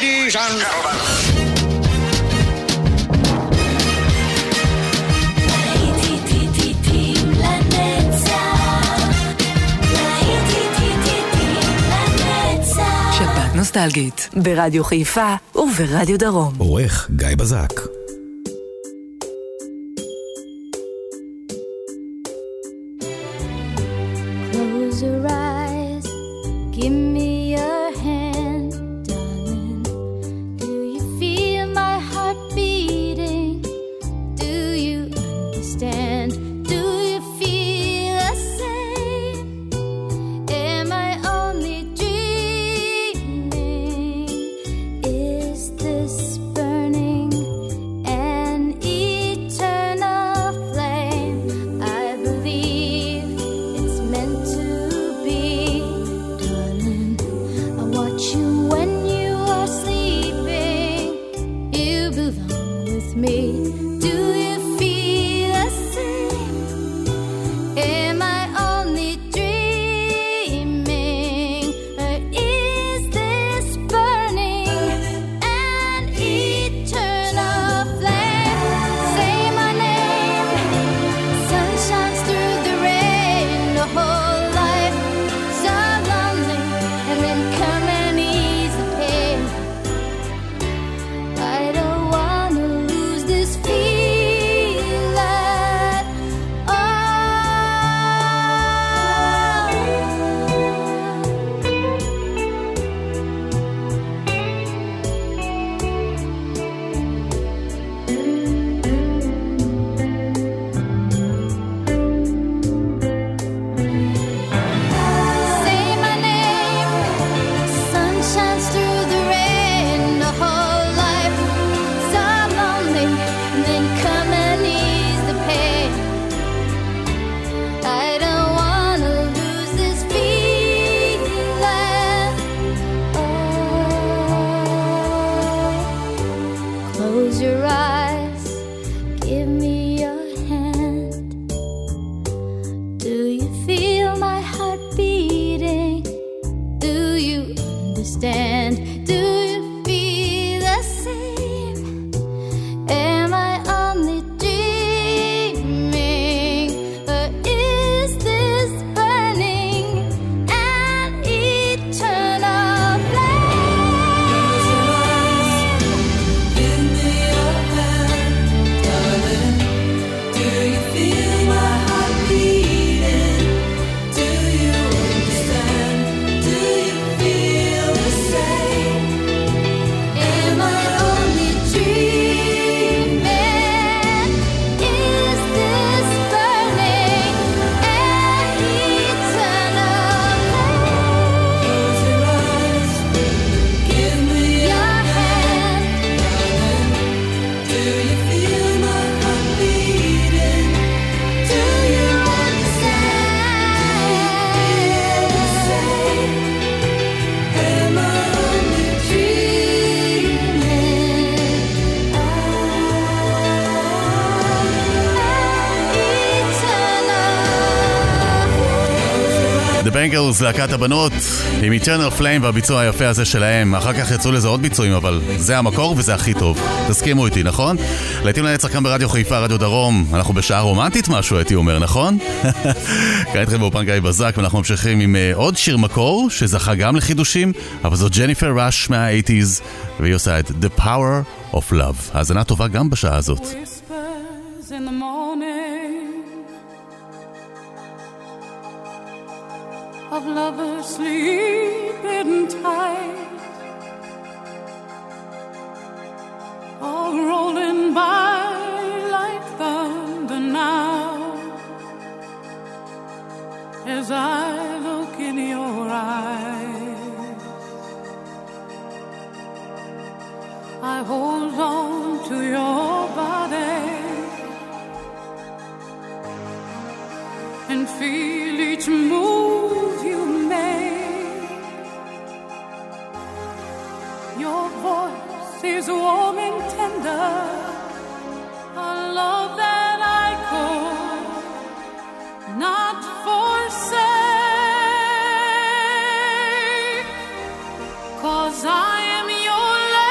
Ladies and gentlemen. שבת נוסטלגית ברדיו חיפה וברדיו דרום. עורך גיא בזק. Close your eyes, give me your hand, darling. Do you feel my heart beating? Do you understand? Do you feel the same? Am I only dreaming? Is this burning an eternal flame? I believe it's meant to be, darling. I watch you when you are sleeping. You belong with me. Do you feel the same? Am I only dreaming? Or is this burning an eternal flame? Say my name. Sun shines through the rain. The whole life so lonely, and then come and ease the pain. I don't wanna lose this feeling. Oh. Say my name. Sun shines through the rain. The whole life so lonely, and then come and ease the pain. I don't wanna lose this feeling. Oh. Close your eyes, give me your hand. Do you feel my heart beating? Do you understand? Do you feel the same? Am I only dreaming? Or is this burning an eternal flame? Give me your hand, darling. Do you feel my heart beating? Do you understand? Do you feel the same? Am I only dreaming? Is this burning an eternal flame? Close your eyes, give me your hand, darling. Do you feel my heart beating? Do you understand? The same. Am I only dreaming? The Bangles, להקת הבנות, עם Eternal Flame והביצוע היפה הזה שלהם. אחר כך יצאו לזה עוד ביצועים, אבל זה המקור וזה הכי טוב. תסכימו איתי, נכון? להיטים לנצח כאן ברדיו חיפה, רדיו דרום. אנחנו בשעה רומנטית משהו, הייתי אומר, נכון? כעת לכם באופן גיא בזק, ואנחנו ממשיכים עם עוד שיר מקור, שזכה גם לחידושים, אבל זו ג'ניפר ראש מה-80s, והיא עושה את The Power of Love. האזנה טובה גם בשעה הזאת. Whispers in the morning of lovers sleeping tight, all rolling by like thunder now, as I look in your eyes. I hold on to your body and feel each move you make. Your voice is warm and tender, a love that I could not forsake, 'cause I am your love.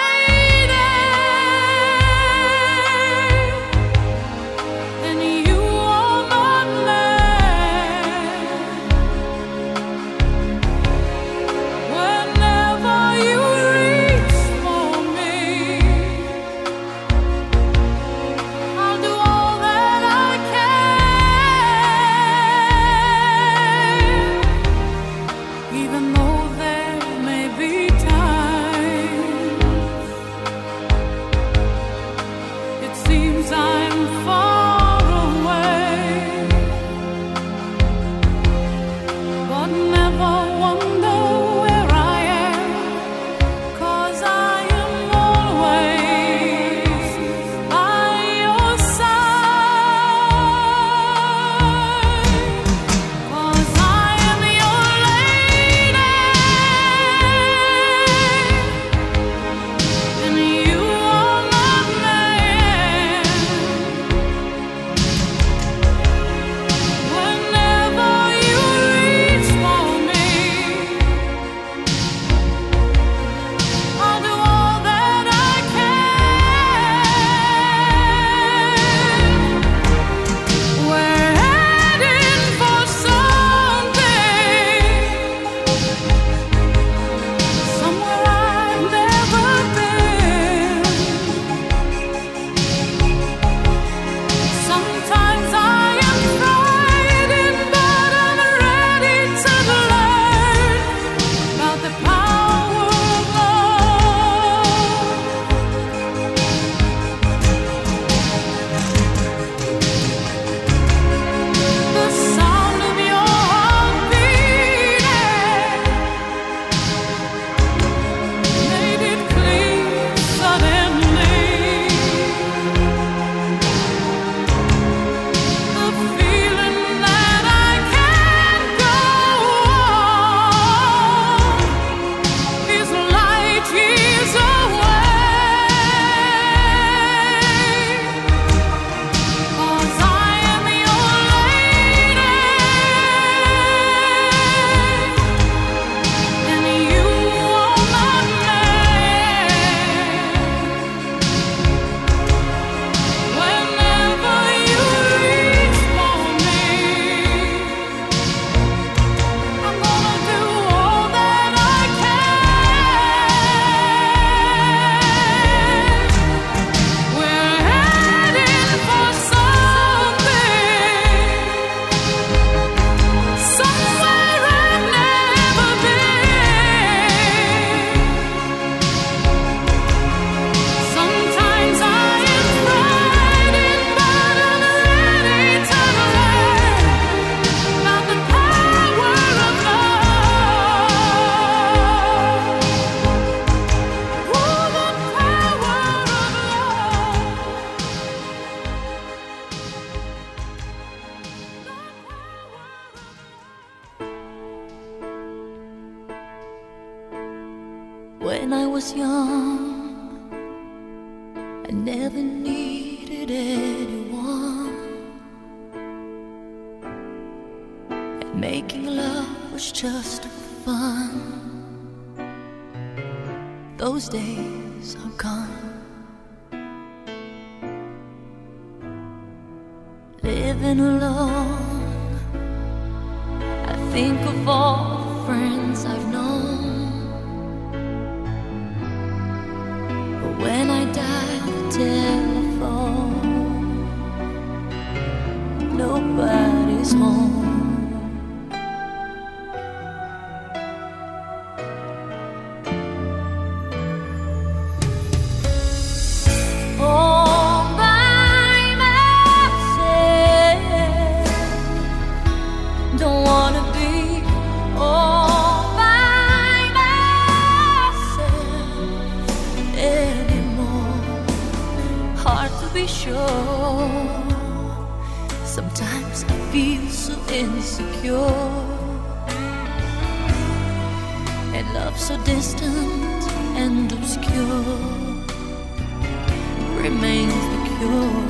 was young, I never needed anyone, and making love was just fun. Those days are gone. Living alone, I think of all the friends I've known, but when I dial the telephone, nobody's home. Sometimes I feel so insecure, and love so distant and obscure remains the cure.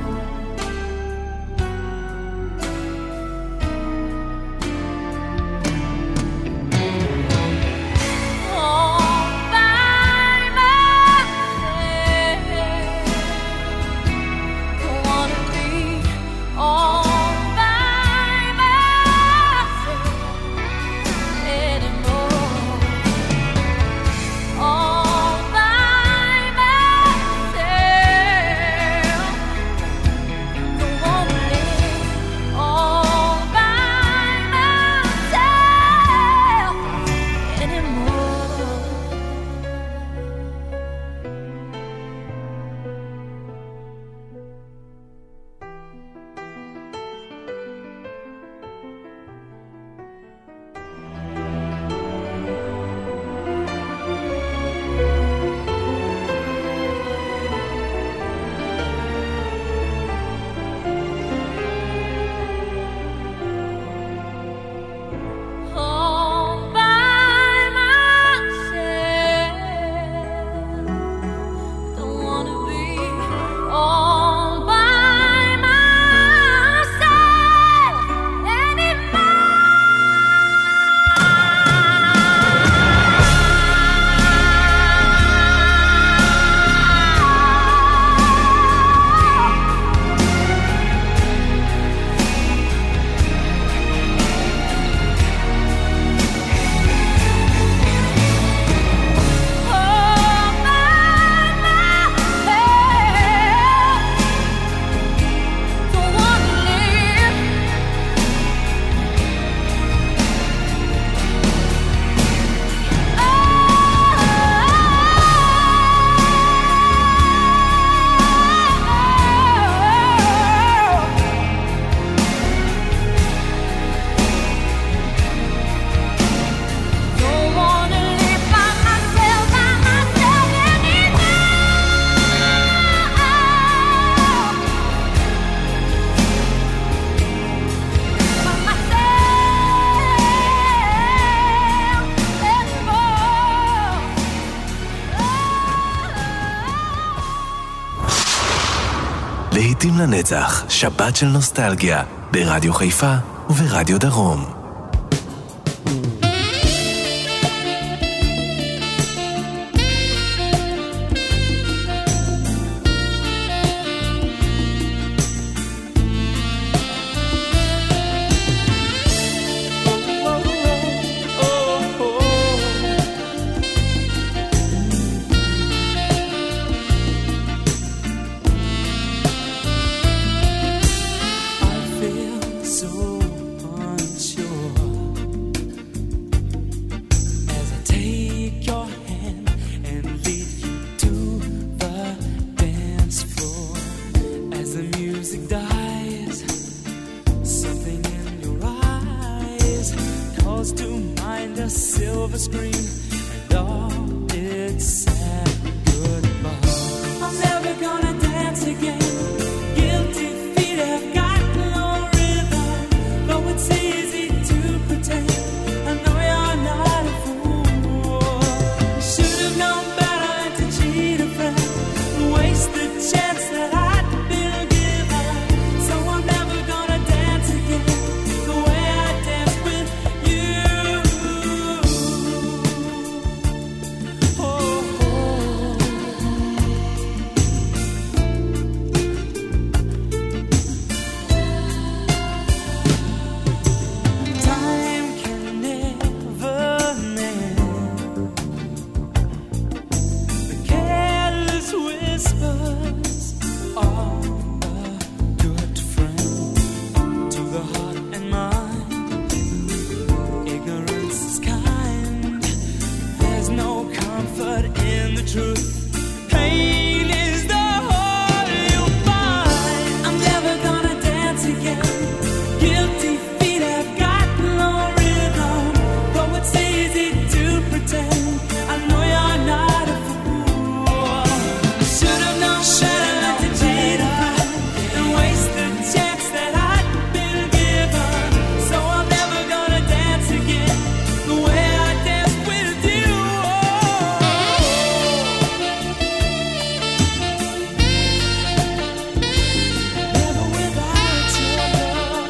להיטים לנצח, שבת של נוסטלגיה, ברדיו חיפה וברדיו דרום. So unsure. in the truth. Pain is the whole you'll find. I'm never gonna dance again. Guilty feet have got no rhythm. Though it's easy to pretend, I know you're not a fool. Should have known better to cheat a friend and waste the chance that I'd been given. So I'm never gonna dance again the way I danced with you. Never without your love.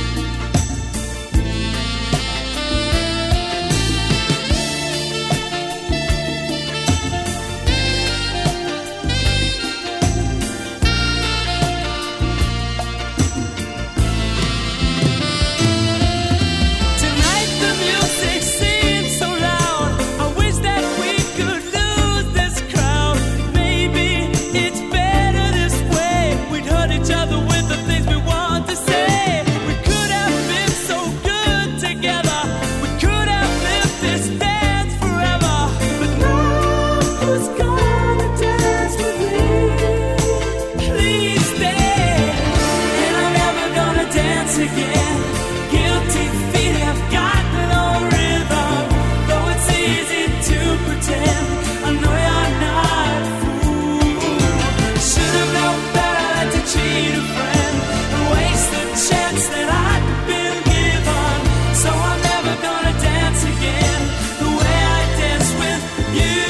Tonight the music seems so loud. I wish that we could lose this crowd. Maybe it's better this way. We'd hurt each other with the things we want to say. We could have been so good together. We could have lived this dance forever. But now who's gonna dance with me? Please stay. And I'm never gonna dance again. Guilty feet have got no rhythm. Though it's easy to pretend, I know you're not a fool. Should have known better to cheat a friend and waste the chance that I'd been given. So I'm never gonna dance again the way I danced with you.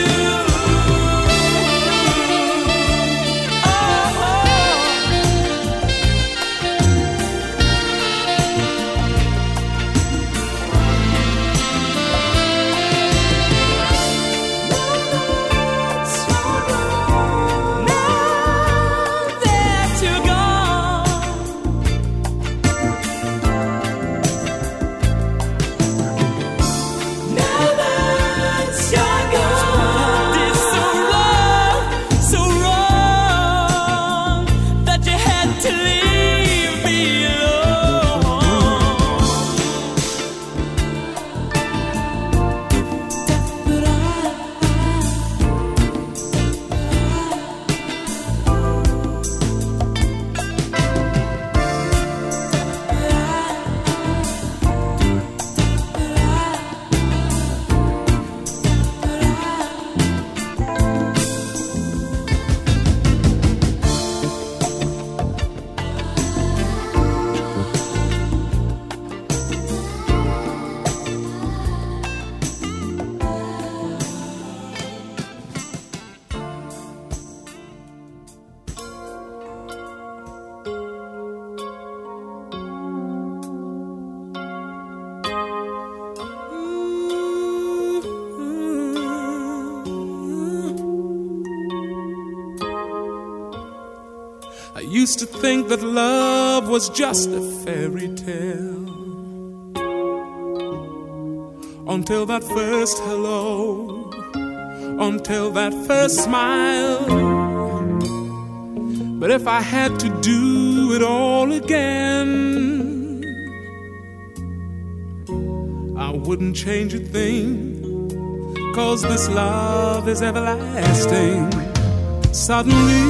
Now that you're gone, now that you're gone, it's so wrong that you had to leave me I used to think that love was just a fairy tale, until that first hello, until that first smile. But if I had to do it all again, I wouldn't change a thing, 'cause this love is everlasting. Suddenly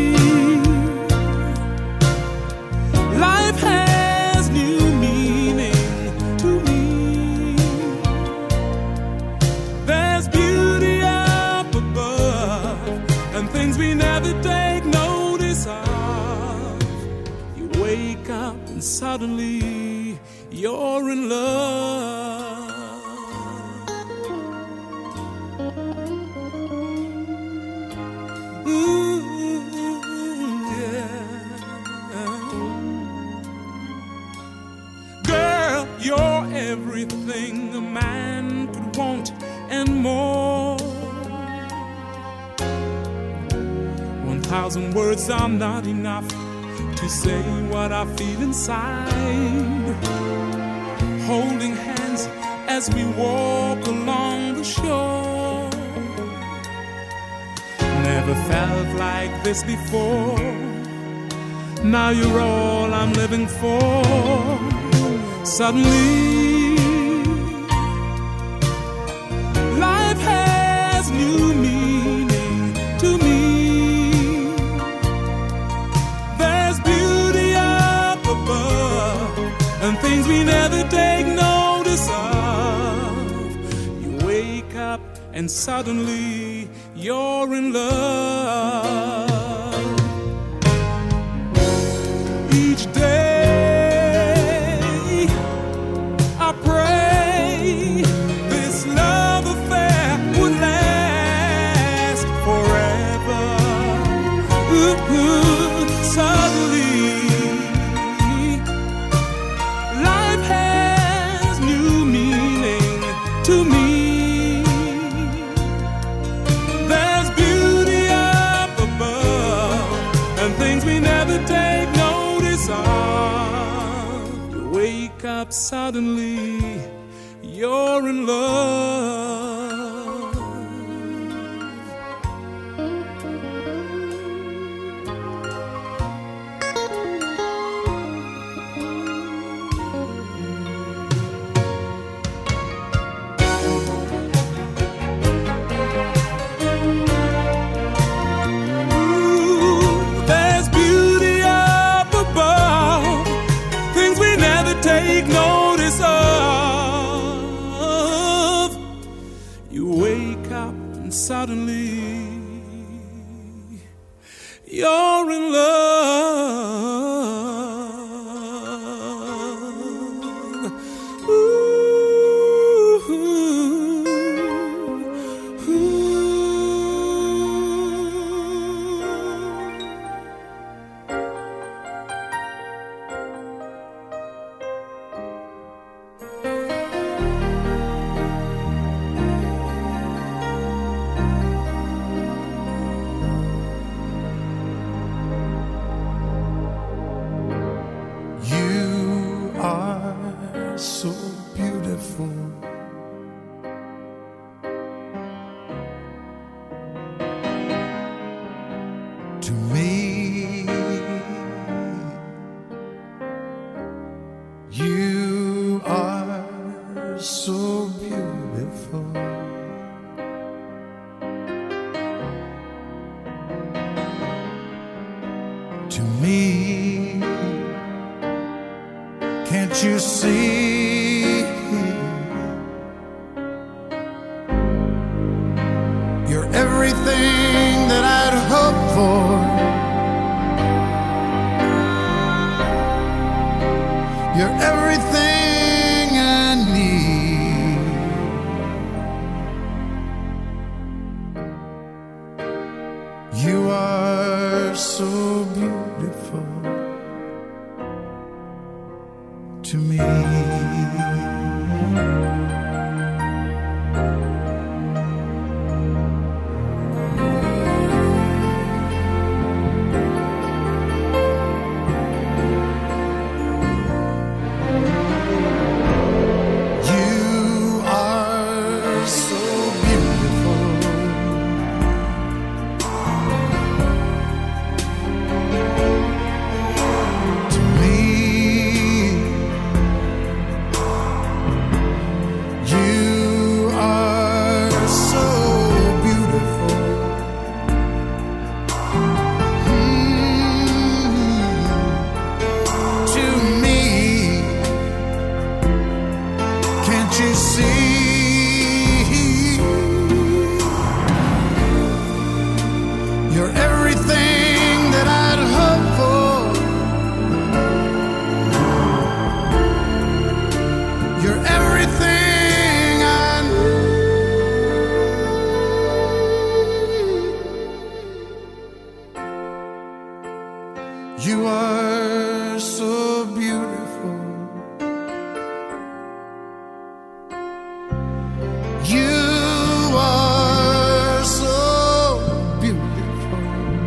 life has new meaning to me. There's beauty up above and things we never take notice of. You wake up and suddenly you're in love. You're everything a man could want and more. 1,000 words are not enough to say what I feel inside. Holding hands as we walk along the shore. Never felt like this before. Now you're all I'm living for. Suddenly, life has new meaning. and suddenly you're in love. Each day I pray this love affair would last forever. Suddenly life has new meaning to me. There's beauty up above and things we never take notice of. You wake up suddenly, you're in love. Take notice of. You wake up and suddenly you're in love. Ooh, ooh. So beautiful, to me. You are so beautiful, to me. Can't you see? You're everything that I'd hoped for. You're everything I need. You are so beautiful to me. You are so beautiful. You are so beautiful.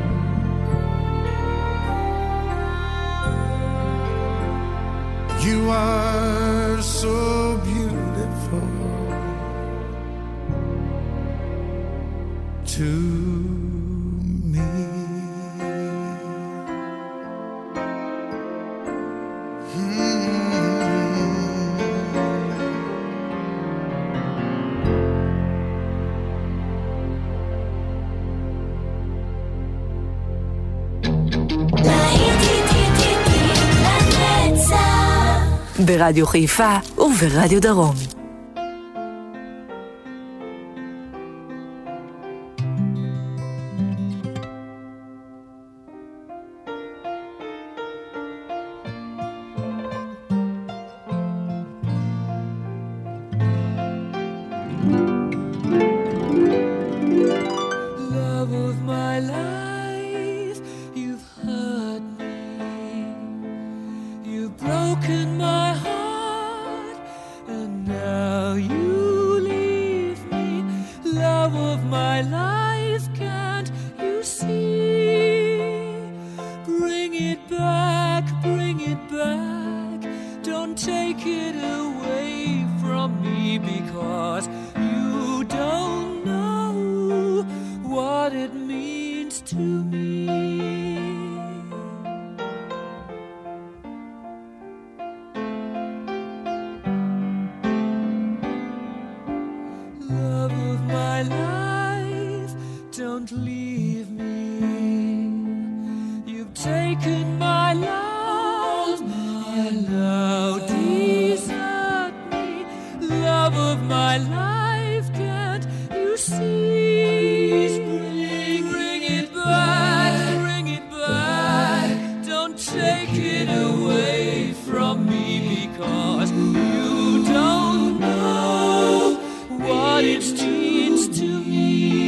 You are so beautiful to me. ברדיו חיפה וברדיו דרום. of my life, you've hurt me. You've broken my heart, and now you leave me. Love of my life, can't you see? Bring it back, bring it back. Don't take it away from me, because you don't know what it means to me. Love of my life, don't leave me. You've taken my love, and now desert me. Love of my life, can't you see? Bring it back, bring it back. Don't take it away from me, because you don't know what it means to me.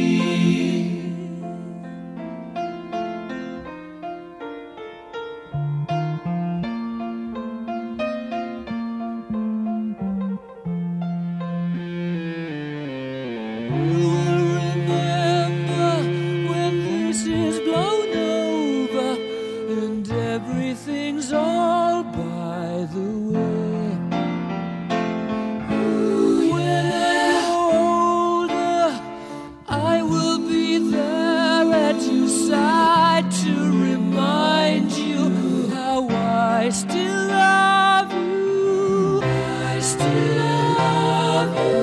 Remember when this is blown over and everything's all by the way. When I'm older, I will be there at your side to remind you how I still love you. I still love you.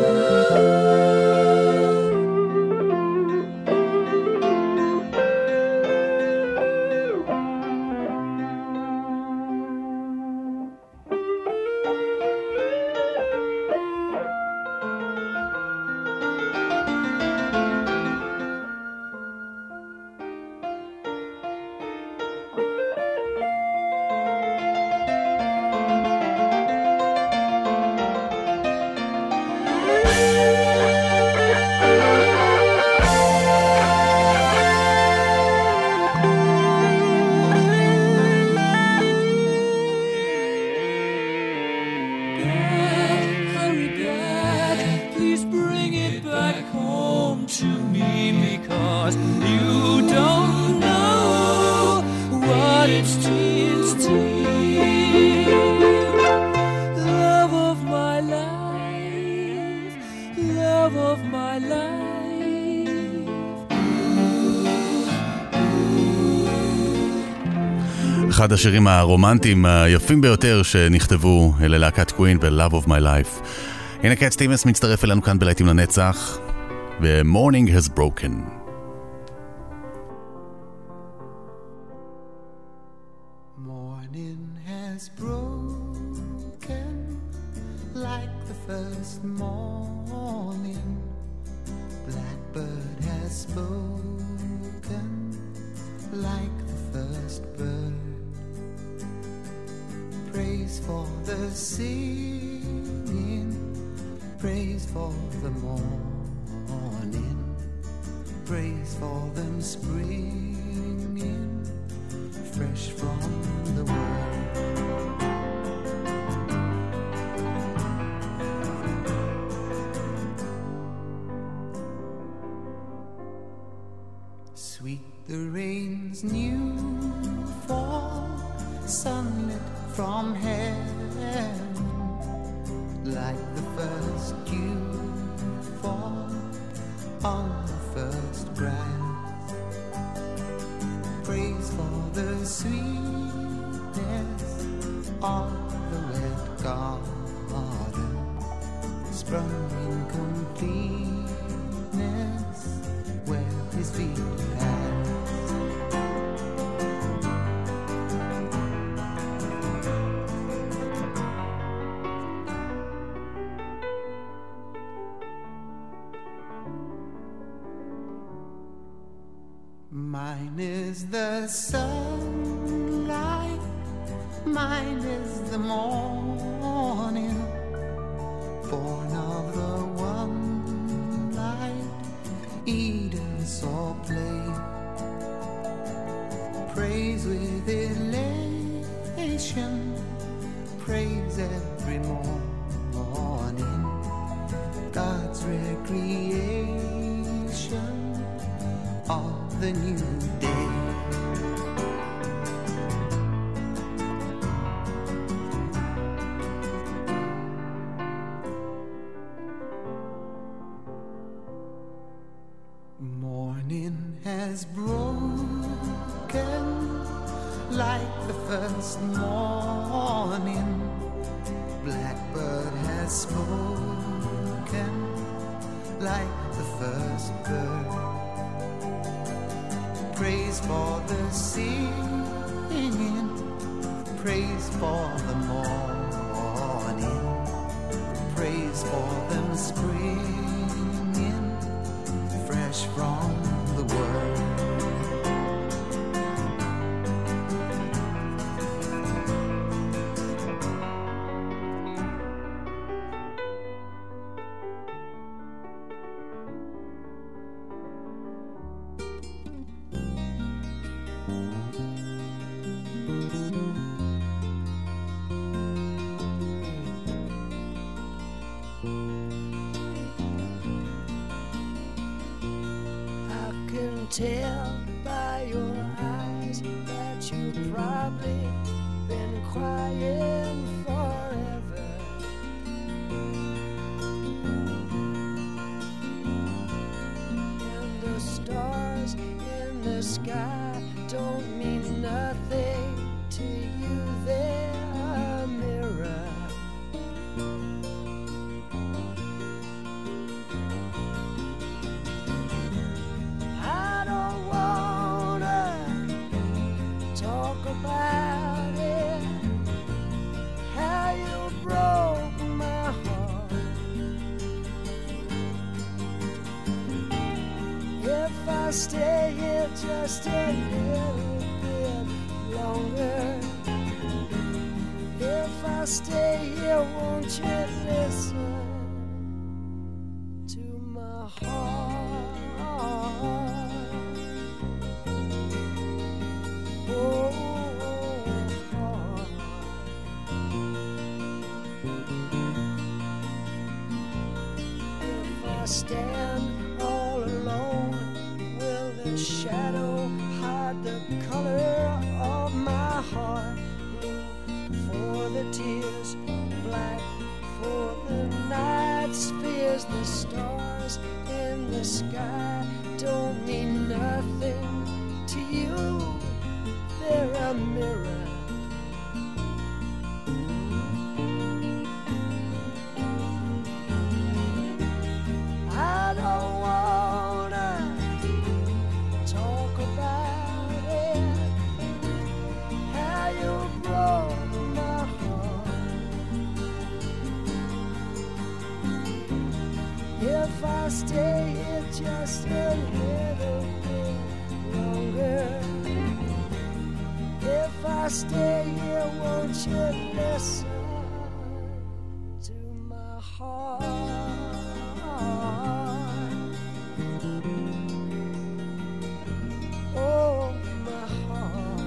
Hurry back, please bring it back home to me, because you don't know what it means to me. Love of my life, love of my life. אחד השירים הרומנטיים היפים ביותר שנכתבו ללהקת קווין ב-Love of My Life. הנה קט סטיבנס מצטרף אלינו כאן בלהיטים לנצח, ו-Morning has broken. Morning has broken like the first morning. Blackbird has spoken like the first bird. Praise for the singing, praise for the morning, praise for them springing fresh from the world. Sweet the rain's new fall, sunlit from heaven, like the first dew fall on the first grass. Praise for the sweetness of the red garden, sprung in completeness where his feet pass. Mine is the sunlight, mine is the morning, born of the one light Eden saw play. praise with elation, praise every morning, God's recreation of the new day. Morning has broken like the first morning, blackbird has spoken like the first bird. Praise for the singing, praise for the morning, praise for them springing fresh from the world. Tell by your eyes that you've probably been crying forever. And the stars in the sky don't mean nothing to you, they're a mirror. About it, how you broke my heart. If I stay here just a little bit longer, if I stay here, won't you listen to my heart? Oh, I stand all alone, will the shadow hide the color of my heart? Blue for the tears, black for the night's fears. The stars in the sky don't mean nothing to you, they're a mirror. I don't wanna talk about it, how you broke my heart. If I stay here just a little bit longer, if I stay here, won't you listen to my heart? Oh, my heart.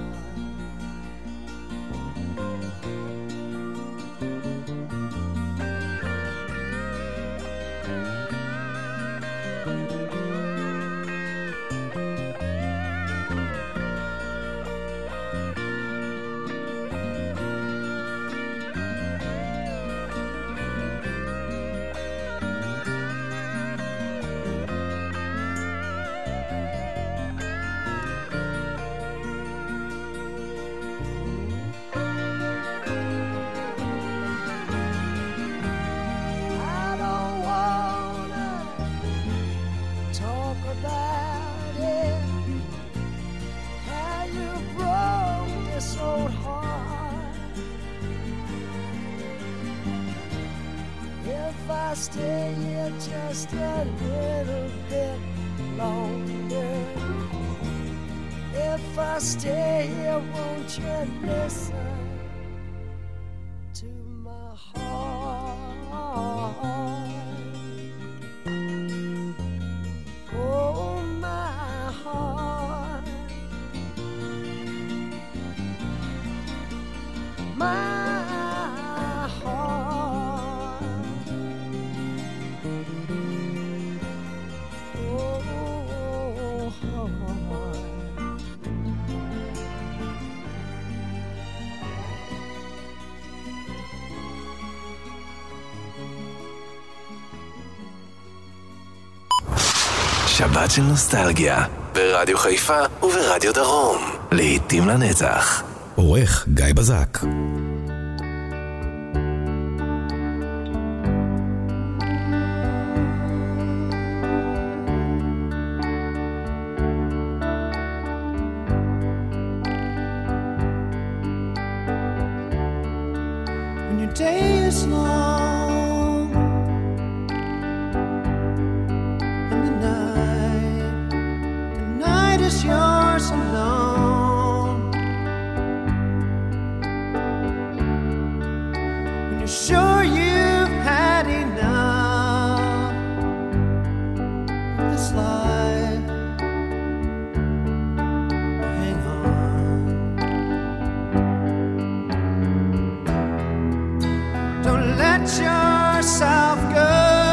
Stay here just a little bit longer. If I stay here, won't you listen to my heart? Oh, my heart. my heart. Oh, heart. שבת של נוסטלגיה, ברדיו חיפה וברדיו דרום. לעתים לנצח. עורך גיא בזק. When your day is long and the night is yours alone. When you're sure you've had enough of this life, hang on. Don't let yourself go.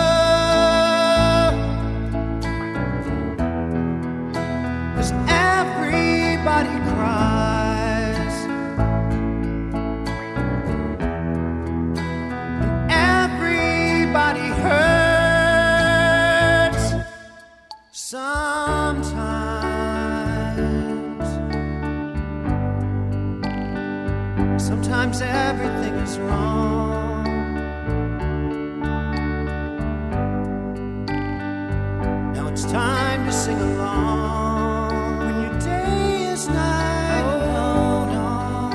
'Cause everybody cries, and everybody hurts sometimes. Sometimes everything is wrong. Now it's time to sing along. When your day is night, hold on,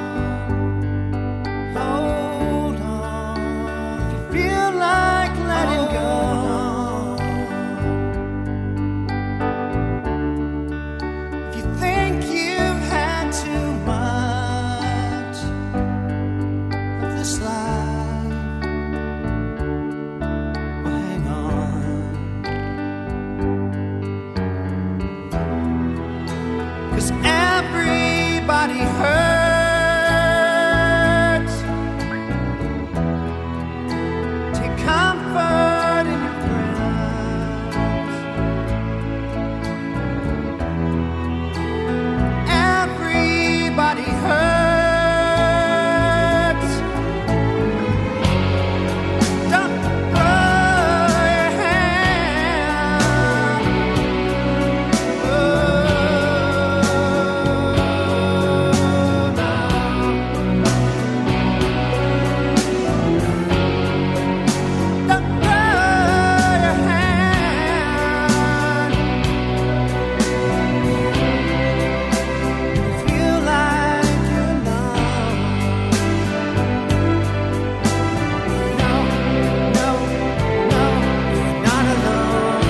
hold on. If you feel like letting go, if you think you've had too much of this life, well, hang on. 'Cause everybody hurts. Take comfort in your friends. Everybody hurts. Don't throw your hand. Don't throw your hand. Feel like you're alone. No, no, no, you're not alone.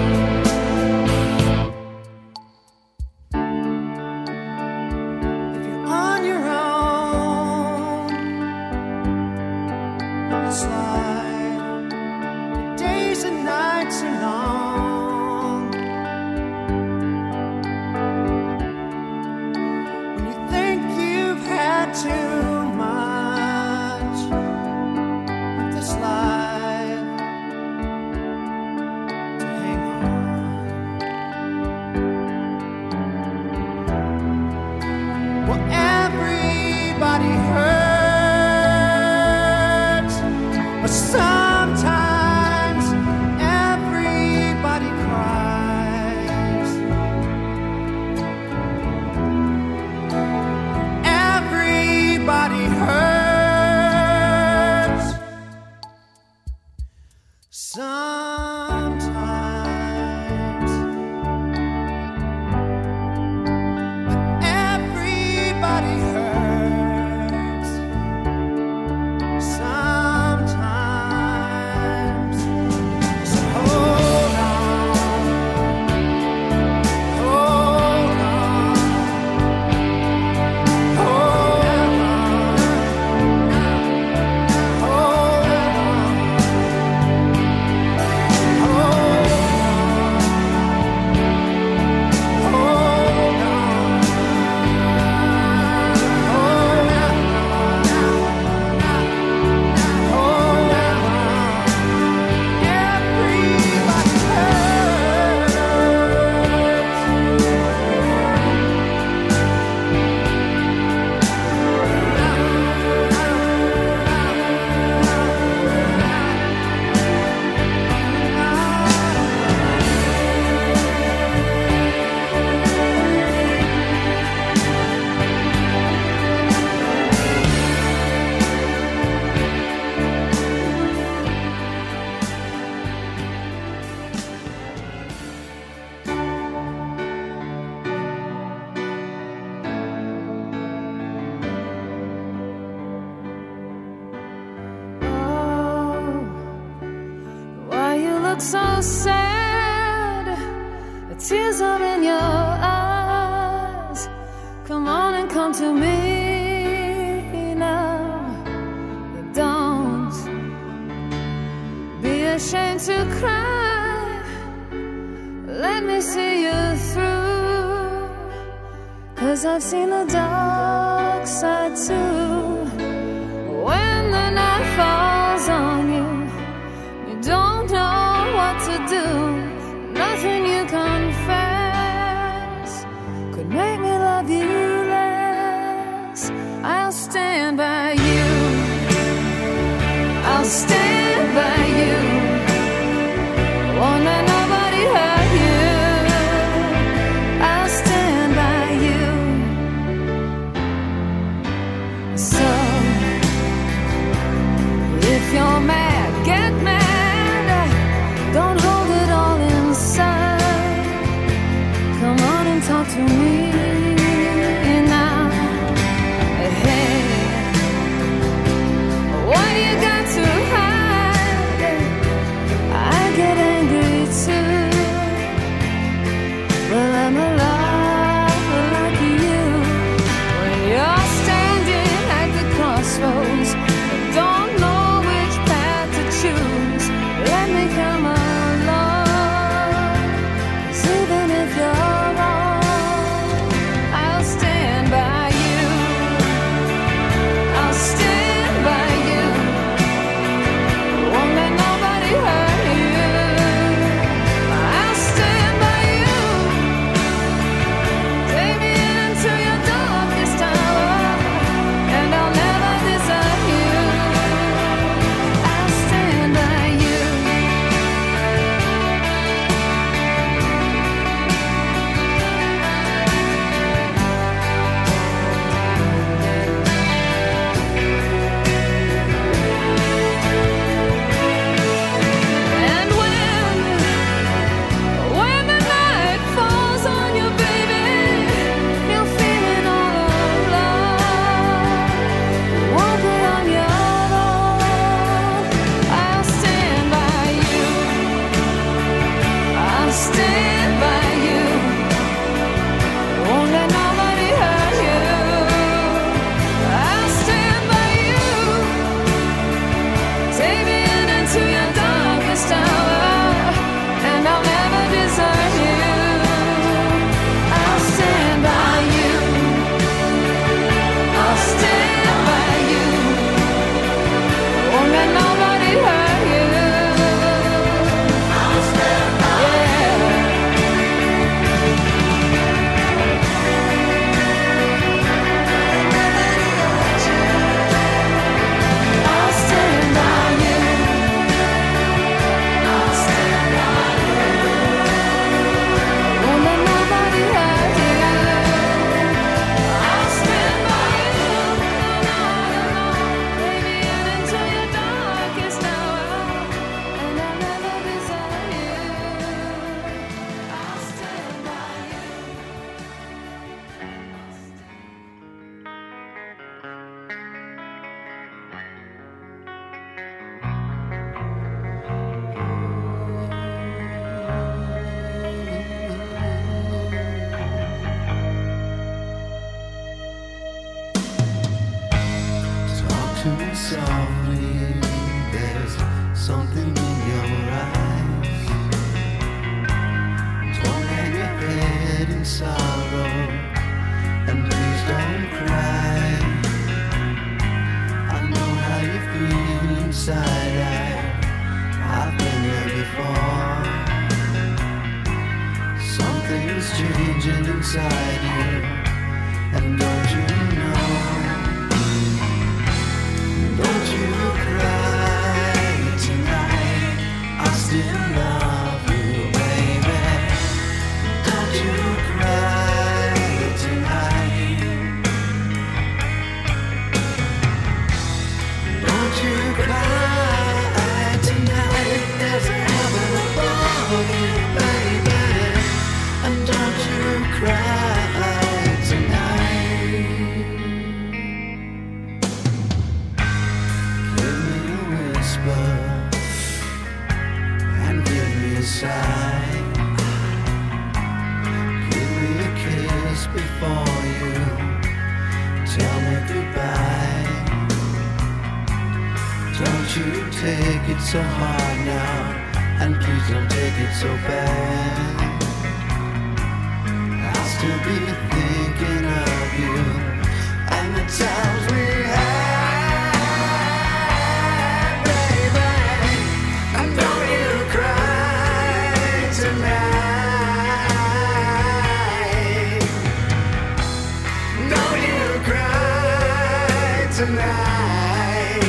If you're on your own on this life, your days and nights are long. When you think you've had too much of this life, to hang on. Well, everybody hurts, but sometimes everybody cries. Everybody hurts sometimes, but everybody look so sad. The tears are in your eyes. Come on and come to me now. Don't be ashamed to cry. Let me see you through. 'Cause I've seen the dark side too. When the night falls on you, you don't know what to do. Nothing you confess could make me love you less. I'll stand by you. I'll stand by you. Won't let nobody hurt you. I'll stand by you. So if you're mad, get mad. Don't hold it all inside. Come on and talk to me now. Hey, what you got to hide? I get angry too. Well, I'm a lot like you. When you're standing at the crossroads, don't know which path to choose. Let me come along. 'Cause even if you're wrong, I'll stand by you. I'll stand by you. Won't let nobody hurt you. I'll stand by you. Take me into your darkest hour, and I'll never desert you. I'll stand by you. And when the night falls on you, baby, you're feeling all alone. Won't be on your own. I'll stand by you. I'll stand by you. Won't let nobody hurt you. I'll stand by you. Take me into your darkest hour, and I'll never desert you. I'll stand by you. I'll stand by you. Won't let nobody hurt you. I'll stand by you. I'll stand by you. I'll stand by you. Won't let nobody hurt you. I'll stand by you. Take me into your darkest hour, and I'll never desert you. I'll stand by you. Talk to me softly, there's something in your eyes. Don't hang your head in sorrow, and please don't cry. I know how you feel inside, I've been there before. Something's changing inside you, and don't you know? Don't you cry tonight, I still love you, baby. Don't you cry tonight. Don't you cry tonight, there's heaven above you, baby. And don't you cry. before you tell me goodbye. Don't you take it so hard now, and please don't take it so bad. I'll still be thinking of you and the times we had, baby. And don't you cry tonight. Don't you cry tonight.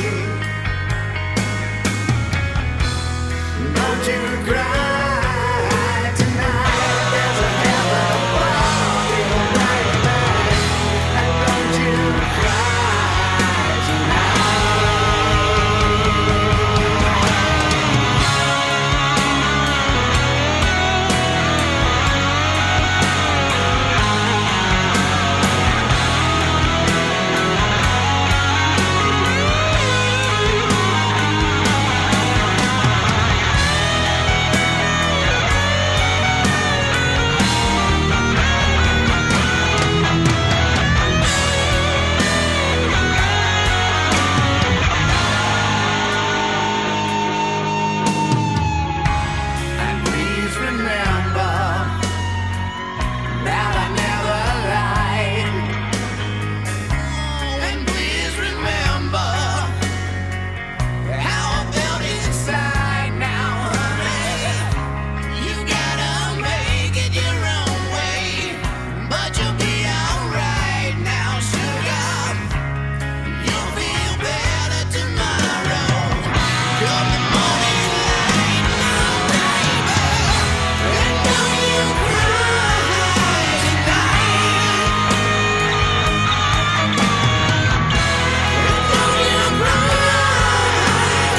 Don't you cry tonight. There's a heaven above you, baby. And don't you cry And please remember that I never lied. And please remember how I felt inside now, honey. You gotta make it your own way, but you'll be alright now, sugar. You'll feel better tomorrow. Come the morning light now, baby. And don't you cry tonight. And don't you cry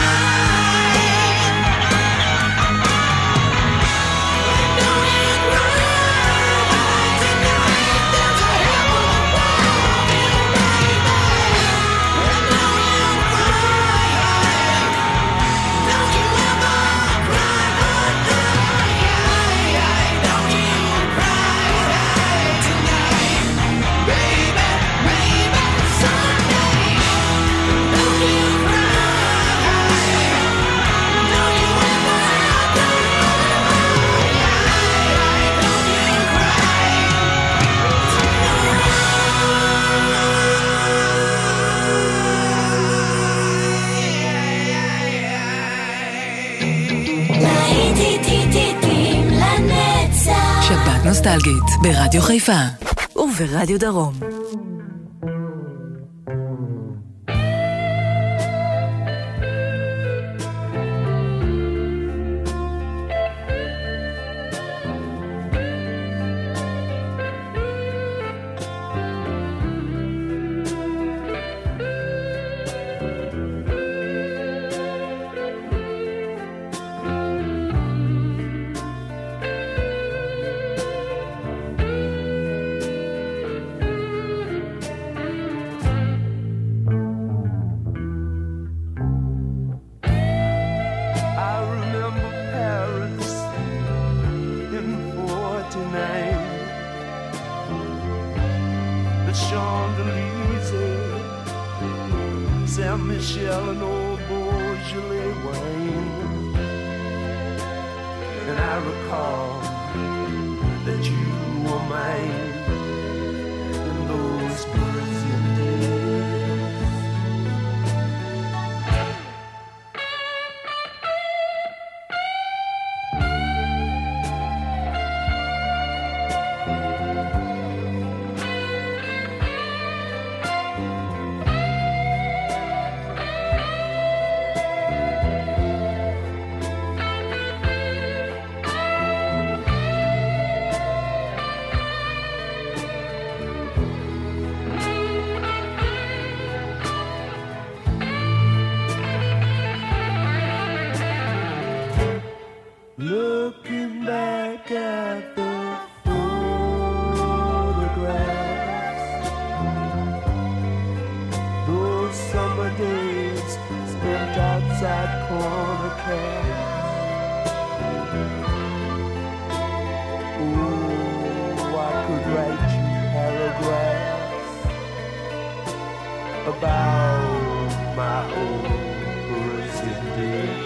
שבת נוסטלגית ברדיו חיפה וברדיו דרום. I remember Paris in '49, the Champs-Élysées, Saint Michel and old Beaujolais wine. And I recall that you were mine in those Parisian days. about my old residence.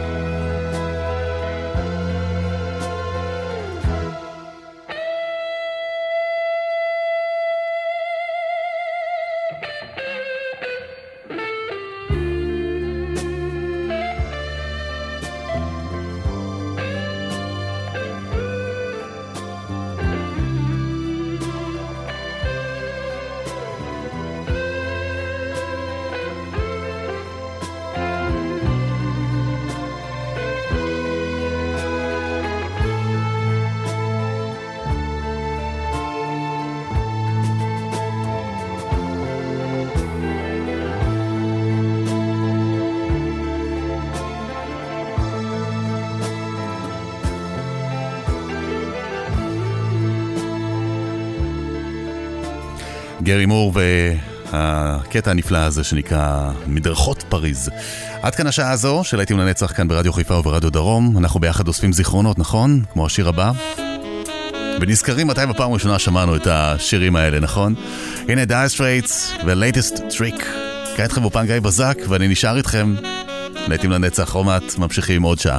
גרי מור והקטע הנפלא הזה שנקרא מדרכות פריז. עד כאן השעה הזו של להיטים לנצח כאן ברדיו חיפה וברדיו דרום. אנחנו ביחד אוספים זיכרונות, נכון? כמו השיר הבא. ונזכרים מתי בפעם ראשונה שמענו את השירים האלה, נכון? הנה Dire Straits ו-Latest Trick. כעת חבופן גיא בזק ואני נשאר איתכם. להיטים לנצח, חומט, ממשיכים עוד שעה.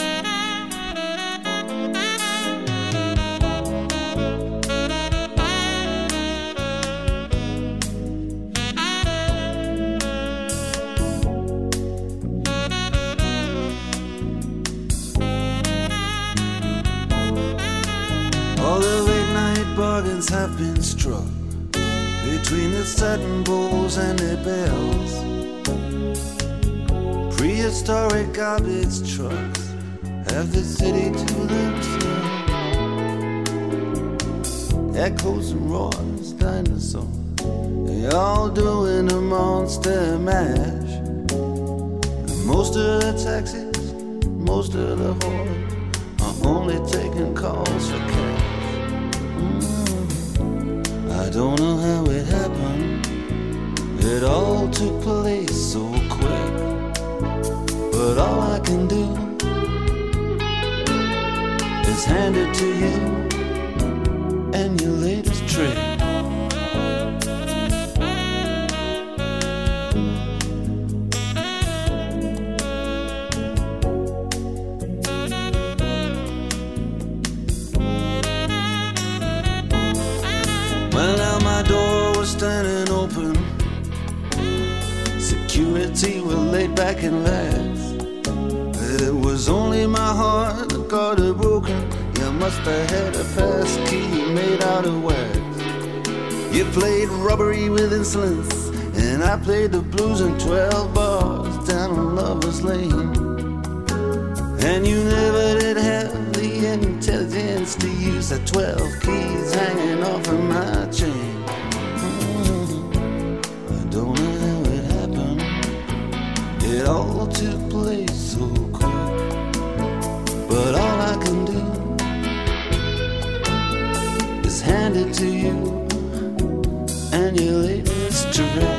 Have been struck between the satin bowls and their bells. Prehistoric garbage trucks have the city to themselves. Echoes and roars, dinosaurs, they all doing a monster mash. And most of the taxis, most of the whores are only taking calls for cash. I don't know how it happened. It all took place so quick. But all I can do is hand it to you and your latest trick. Well, now my door was standing open. Security were laid back in lads. But it was only my heart that got it broken. You must have had a pass key made out of wax. You played robbery with insolence, and I played the blues in 12 bars down on Lover's Lane. And you never did have the intelligence to use the 12 keys hanging off of my chain. I don't know how it happened. It all took place so quick. But all I can do is hand it to you and your latest trick.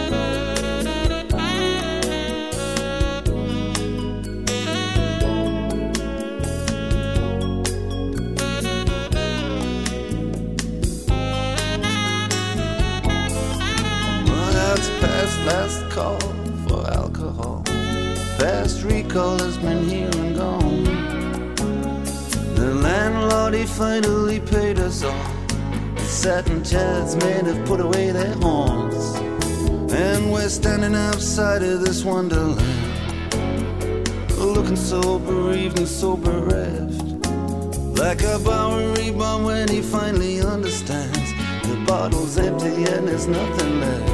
Last call for alcohol. Fast recall has been here and gone. The landlord, he finally paid us all. The satin chairs men have put away their horns. And we're standing outside of this wonderland, looking so bereaved and so bereft. Like a Bowery bomb when he finally understands the bottle's empty and there's nothing left.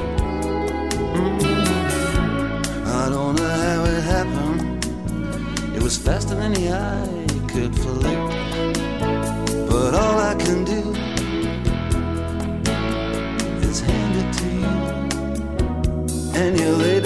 I don't know how it happened. It was faster than the eye could flick. But all I can do is hand it to you and your latest